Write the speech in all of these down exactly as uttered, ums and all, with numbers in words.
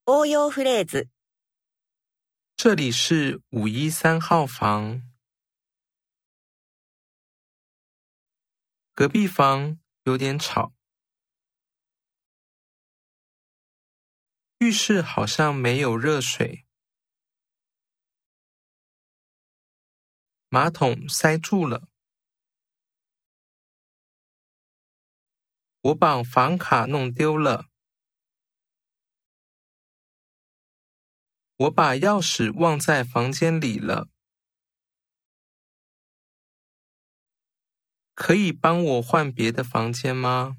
応用フレーズ。 这里是五一三号房，隔壁房有点吵，浴室好像没有热水，马桶塞住了，我把房卡弄丢了，我把钥匙忘在房间里了，可以帮我换别的房间吗？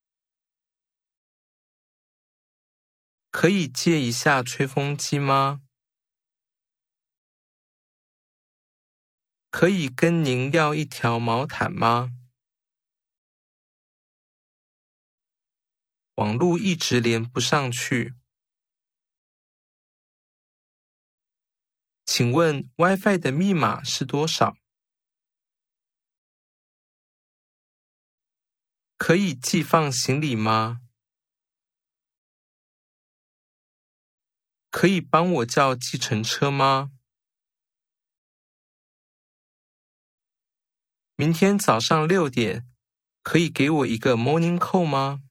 可以借一下吹风机吗？可以跟您要一条毛毯吗？网路一直连不上去。请问 WiFi 的密码是多少？可以寄放行李吗？可以帮我叫计程车吗？明天早上六点，可以给我一个 morning call 吗？